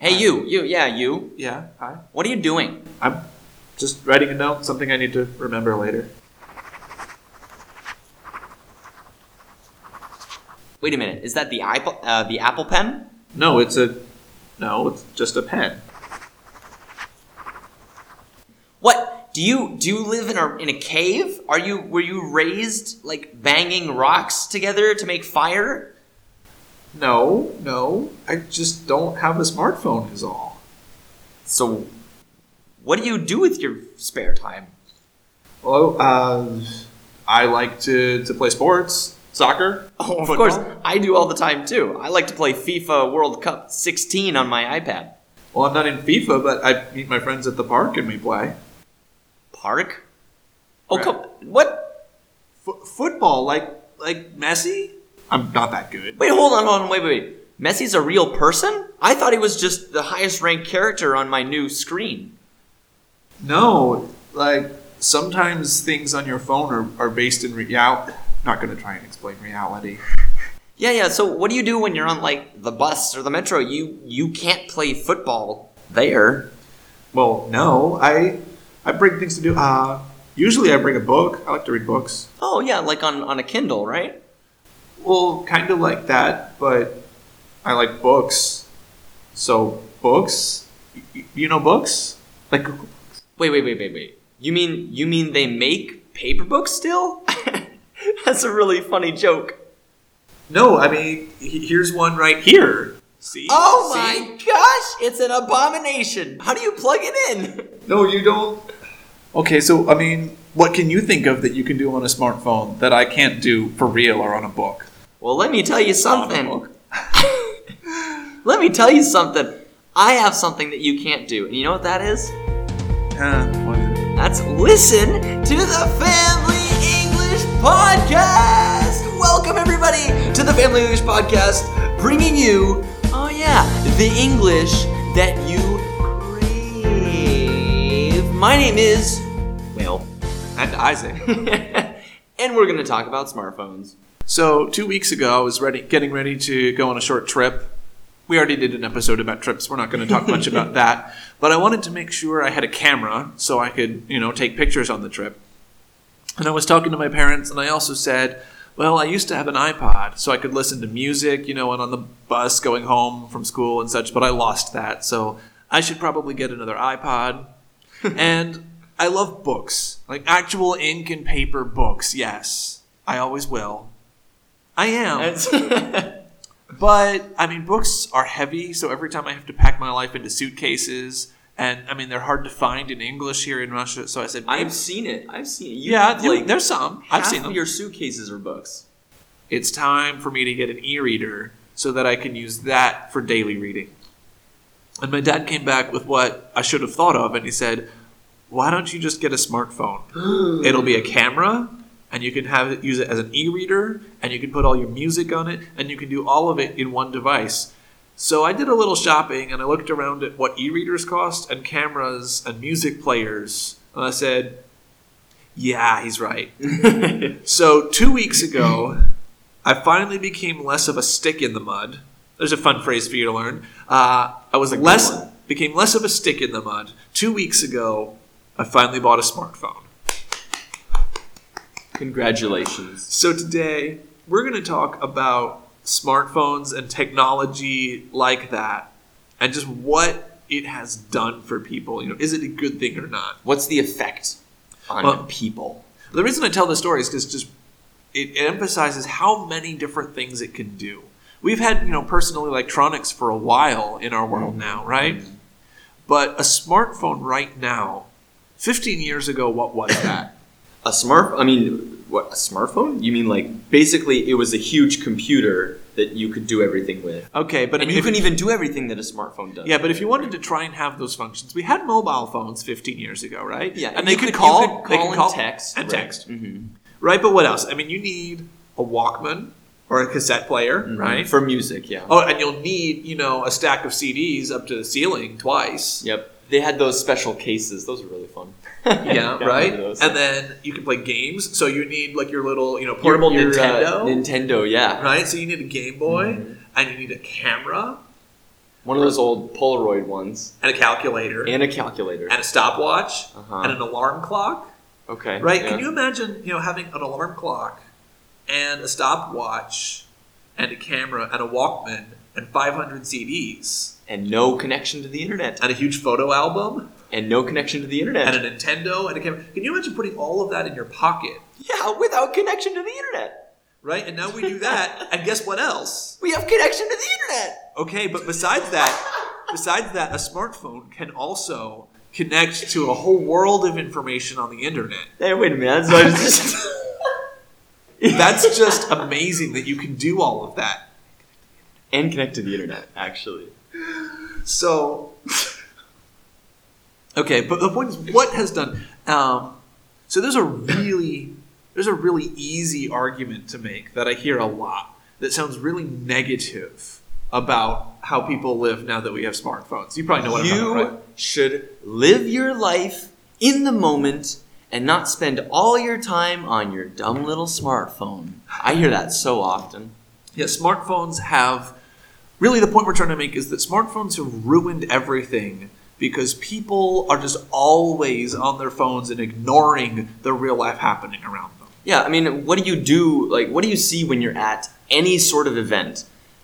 Hey, Hi. you. Yeah, hi. What are you doing? I'm just writing a note, something I need to remember later. Wait a minute. Is that the Apple Pen? No, it's just a pen. What? Do you live in a cave? Were you raised like banging rocks together to make fire? No, I just don't have a smartphone is all. So, what do you do with your spare time? Well, I like to play sports, soccer. Oh, of football. course, I do all the time too. I like to play FIFA World Cup 16 on my iPad. Well, I'm not in FIFA, but I meet my friends at the park and we play. Park? Oh, Right. come what? Football, like Messi? I'm not that good. Wait, hold on, wait. Messi's a real person? I thought he was just the highest ranked character on my new screen. No, like sometimes things on your phone are based in reality. Not going to try and explain reality. Yeah, so what do you do when you're on, like, the bus or the metro? You can't play football there. Well, no, I bring things to do. Usually I bring a book. I like to read books. Oh, yeah, like on a Kindle, right? Well, kind of like that, but I like books. So, books? You know books? Like Google Books. Wait. You mean they make paper books still? That's a really funny joke. No, I mean, here's one right here. See? Oh See? my gosh, it's an abomination. How do you plug it in? No, you don't. Okay, so, I mean, what can you think of that you can do on a smartphone that I can't do for real or on a book? Well, let me tell you On a something. book? Let me tell you something. I have something that you can't do. And you know what that is? What is it? That's listen to the Family English Podcast. Welcome, everybody, to the Family English Podcast, bringing you, the English that you crave. My name is, Will. And Isaac. And we're going to talk about smartphones. So 2 weeks ago, I was getting ready to go on a short trip. We already did an episode about trips. We're not going to talk much about that. But I wanted to make sure I had a camera so I could, take pictures on the trip. And I was talking to my parents, and I also said, well, I used to have an iPod so I could listen to music, and on the bus going home from school and such, but I lost that. So I should probably get another iPod. And I love books, like actual ink and paper books, yes. I always will. I am. But, I mean, books are heavy, so every time I have to pack my life into suitcases, and, I mean, they're hard to find in English here in Russia, so I said... I've seen it. There's some. I've seen them. Half of your suitcases are books. It's time for me to get an e-reader so that I can use that for daily reading. And my dad came back with what I should have thought of, and he said, why don't you just get a smartphone? It'll be a camera... and you can use it as an e-reader, and you can put all your music on it, and you can do all of it in one device. So I did a little shopping, and I looked around at what e-readers cost, and cameras, and music players, and I said, yeah, he's right. So 2 weeks ago, I finally became less of a stick in the mud. There's a fun phrase for you to learn. Became less of a stick in the mud. 2 weeks ago, I finally bought a smartphone. Congratulations. So today, we're going to talk about smartphones and technology like that, and just what it has done for people. Is it a good thing or not? What's the effect on people? The reason I tell this story is because it emphasizes how many different things it can do. We've had, personal electronics for a while in our world now, right? Mm-hmm. But a smartphone right now, 15 years ago, what was that? A smartphone? You mean like basically it was a huge computer that you could do everything with. Okay, but you can even do everything that a smartphone does. Yeah, but if you wanted to try and have those functions, we had mobile phones 15 years ago, right? Yeah, and they could call and text. And right. text. Mm-hmm. Right, but what else? I mean, you need a Walkman or a cassette player, mm-hmm. right? For music, yeah. Oh, and you'll need, a stack of CDs up to the ceiling twice. Yep. They had those special cases. Those were really fun. Yeah, right? And then you can play games. So you need like your little, portable Nintendo. Nintendo, yeah. Right? So you need a Game Boy, and you need a camera. One of those old Polaroid ones. And a calculator. And a calculator. And a stopwatch. And an alarm clock. Okay. Right? Yeah. Can you imagine, having an alarm clock and a stopwatch and a camera and a Walkman and 500 CDs? And no connection to the internet. And a huge photo album? And no connection to the internet. And a Nintendo and a camera. Can you imagine putting all of that in your pocket? Yeah, without connection to the internet. Right? And now we do that, and guess what else? We have connection to the internet. Okay, but besides that, a smartphone can also connect to a whole world of information on the internet. Hey, wait a minute. So That's just amazing that you can do all of that. And connect to the internet, actually. So, okay, but the point is, what has done? So there's a really easy argument to make that I hear a lot that sounds really negative about how people live now that we have smartphones. You probably know what I'm talking about, right? You should live your life in the moment and not spend all your time on your dumb little smartphone. I hear that so often. Yeah, smartphones have... Really, the point we're trying to make is that smartphones have ruined everything because people are just always on their phones and ignoring the real life happening around them. Yeah, I mean, what do you do? Like, what do you see when you're at any sort of event?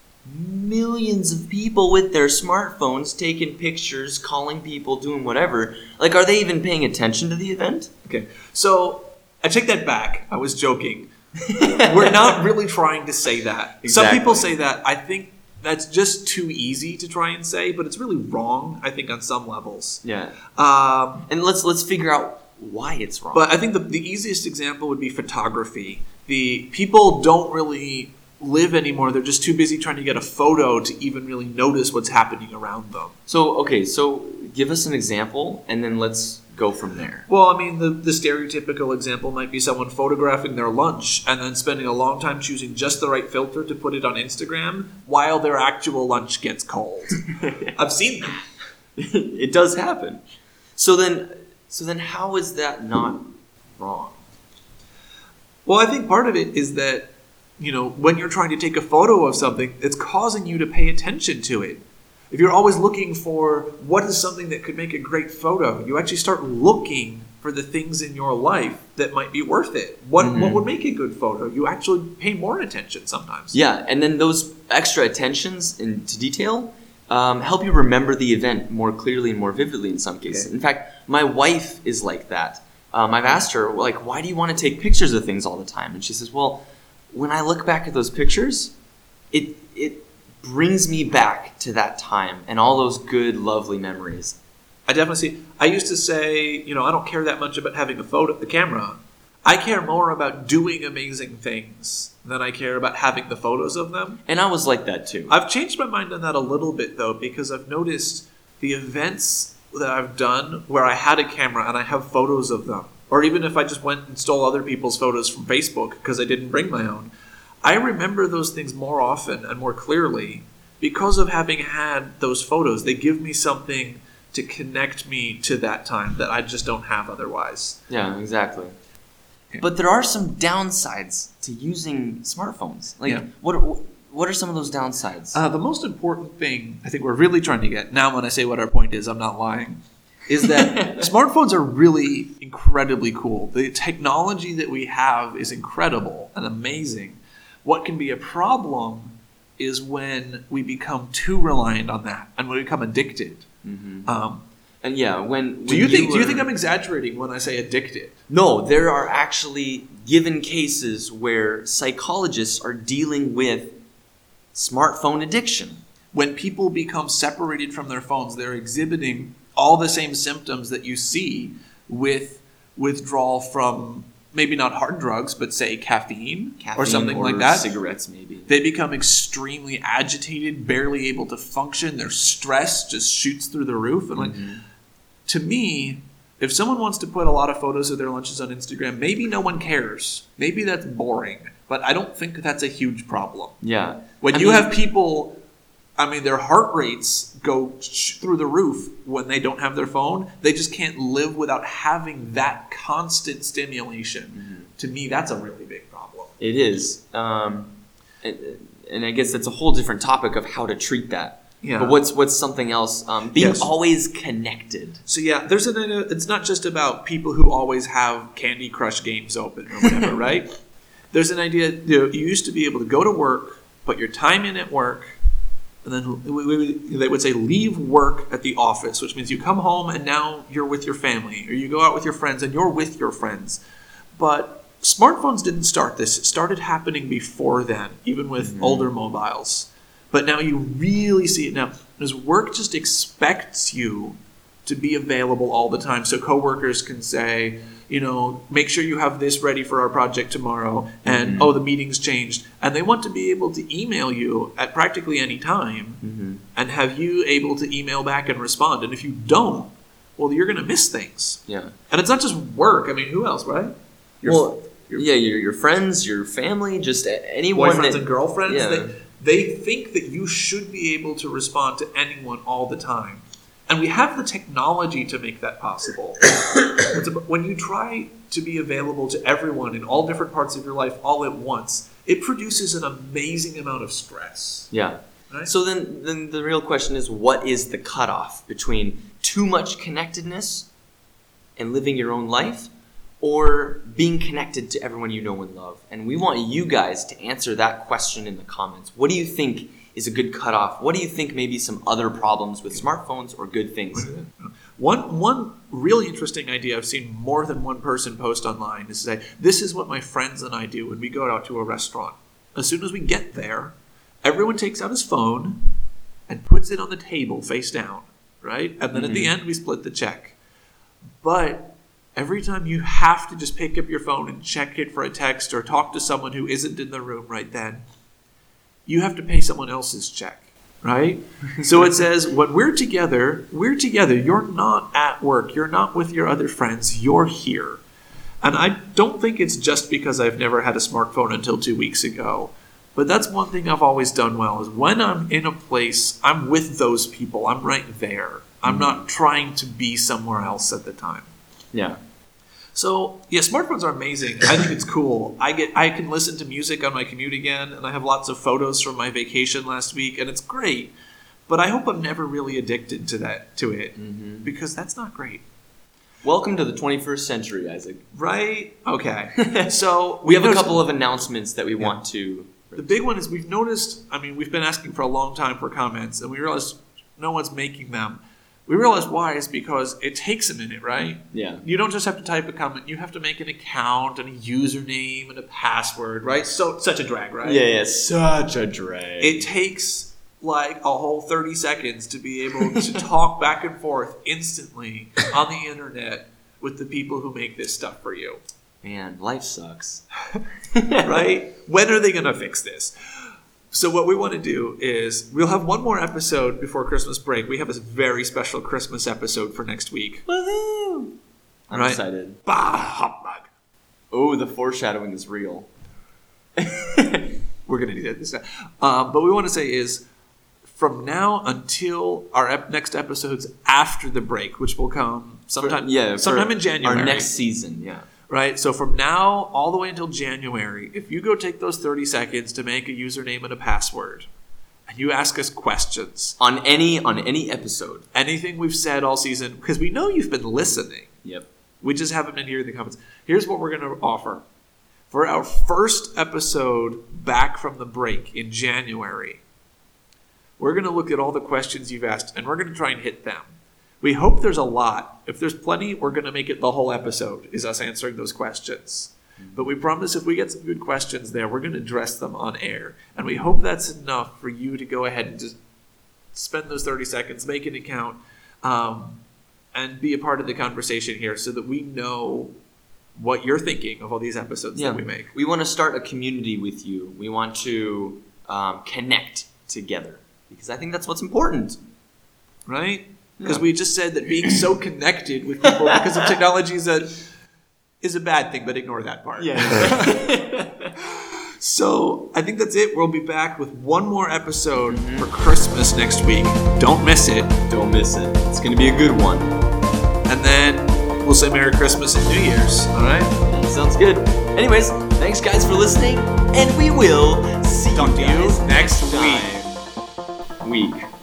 Millions of people with their smartphones taking pictures, calling people, doing whatever. Like, are they even paying attention to the event? Okay, so I take that back. I was joking. We're not really trying to say that. Exactly. Some people say that. I think that's just too easy to try and say, but it's really wrong, I think, on some levels. Yeah. And let's figure out why it's wrong. But I think the easiest example would be photography. The people don't really live anymore. They're just too busy trying to get a photo to even really notice what's happening around them. So give us an example, and then let's go from there. Well, I mean, the stereotypical example might be someone photographing their lunch and then spending a long time choosing just the right filter to put it on Instagram while their actual lunch gets cold. I've seen that. It does happen. So then how is that not wrong? Well, I think part of it is that, when you're trying to take a photo of something, it's causing you to pay attention to it. If you're always looking for what is something that could make a great photo, you actually start looking for the things in your life that might be worth it. What would make a good photo? You actually pay more attention sometimes. Yeah, and then those extra attentions into detail help you remember the event more clearly and more vividly in some cases. Okay. In fact, my wife is like that. I've asked her, like, why do you want to take pictures of things all the time? And she says, well, when I look back at those pictures, it brings me back to that time and all those good, lovely memories. I definitely see. I used to say, I don't care that much about having the camera. I care more about doing amazing things than I care about having the photos of them. And I was like that too. I've changed my mind on that a little bit, though, because I've noticed the events that I've done where I had a camera and I have photos of them, or even if I just went and stole other people's photos from Facebook because I didn't bring my own, I remember those things more often and more clearly because of having had those photos. They give me something to connect me to that time that I just don't have otherwise. Yeah, exactly. Okay. But there are some downsides to using smartphones. What are some of those downsides? The most important thing I think we're really trying to get, now when I say what our point is, I'm not lying, is that smartphones are really incredibly cool. The technology that we have is incredible and amazing. What can be a problem is when we become too reliant on that and when we become addicted. Mm-hmm. And yeah, when do you think I'm exaggerating when I say addicted? No, there are actually given cases where psychologists are dealing with smartphone addiction. When people become separated from their phones, they're exhibiting all the same symptoms that you see with withdrawal from maybe not hard drugs, but say caffeine or something like that. Cigarettes, maybe. They become extremely agitated, barely able to function. Their stress just shoots through the roof. And to me, if someone wants to put a lot of photos of their lunches on Instagram, maybe no one cares. Maybe that's boring, but I don't think that's a huge problem. Yeah. When you have people, their heart rates go through the roof when they don't have their phone. They just can't live without having that constant stimulation. Mm-hmm. To me, that's a really big problem. It is. And I guess that's a whole different topic of how to treat that. Yeah. But what's something else? Being always connected. So there's it's not just about people who always have Candy Crush games open or whatever, right? There's an idea, you used to be able to go to work, put your time in at work, and then they would say leave work at the office, which means you come home and now you're with your family, or you go out with your friends and you're with your friends. But smartphones didn't start this. It started happening before then, even with older mobiles. But now you really see it now, because work just expects you to be available all the time. So coworkers can say, make sure you have this ready for our project tomorrow, and the meeting's changed. And they want to be able to email you at practically any time and have you able to email back and respond. And if you don't, well, you're going to miss things. Yeah. And it's not just work. I mean, who else, right? Your friends, your family, just anyone. Boyfriends and girlfriends. Yeah. They think that you should be able to respond to anyone all the time. And we have the technology to make that possible. When you try to be available to everyone in all different parts of your life all at once, it produces an amazing amount of stress. Yeah. Right? So then the real question is, what is the cutoff between too much connectedness and living your own life, or being connected to everyone you know and love? And we want you guys to answer that question in the comments. What do you think is a good cutoff? What do you think may be some other problems with smartphones or good things? One really interesting idea I've seen more than one person post online is to say, this is what my friends and I do when we go out to a restaurant. As soon as we get there, everyone takes out his phone and puts it on the table face down, right? And then at the end, we split the check. But every time you have to just pick up your phone and check it for a text or talk to someone who isn't in the room right then, you have to pay someone else's check, right? So it says, when we're together. You're not at work. You're not with your other friends. You're here. And I don't think it's just because I've never had a smartphone until 2 weeks ago. But that's one thing I've always done well, is when I'm in a place, I'm with those people. I'm right there. I'm not trying to be somewhere else at the time. Yeah. So, smartphones are amazing. I think it's cool. I can listen to music on my commute again, and I have lots of photos from my vacation last week, and it's great. But I hope I'm never really addicted to it, because that's not great. Welcome to the 21st century, Isaac. Right? Okay. So we have a couple of announcements that we want to... The big one is we've noticed, we've been asking for a long time for comments, and we realized no one's making them. We realized why is because it takes a minute, right? Yeah. You don't just have to type a comment. You have to make an account and a username and a password, right? So such a drag, right? Yeah, such a drag. It takes like a whole 30 seconds to be able to talk back and forth instantly on the internet with the people who make this stuff for you. Man, life sucks. Right? When are they going to fix this? So what we want to do is we'll have one more episode before Christmas break. We have a very special Christmas episode for next week. Woohoo! I'm excited. Bah, hot mug. Oh, the foreshadowing is real. We're going to do that this time. But we want to say is from now until our next episodes after the break, which will come sometime in January. Our next season, yeah. Right? So from now all the way until January, if you go take those 30 seconds to make a username and a password, and you ask us questions on any episode, anything we've said all season, because we know you've been listening. Yep. We just haven't been here in the comments. Here's what we're going to offer. For our first episode back from the break in January, we're going to look at all the questions you've asked, and we're going to try and hit them. We hope there's a lot. If there's plenty, we're going to make it the whole episode, is us answering those questions. But we promise if we get some good questions there, we're going to address them on air. And we hope that's enough for you to go ahead and just spend those 30 seconds, make an account, and be a part of the conversation here so that we know what you're thinking of all these episodes that we make. We want to start a community with you. We want to connect together because I think that's what's important. Right? Because we just said that being so connected with people because of technology is a bad thing, but ignore that part. Yeah. So I think that's it. We'll be back with one more episode for Christmas next week. Don't miss it. Don't miss it. It's going to be a good one. And then we'll say Merry Christmas and New Year's. All right? Sounds good. Anyways, thanks guys for listening, and we will see you guys next week.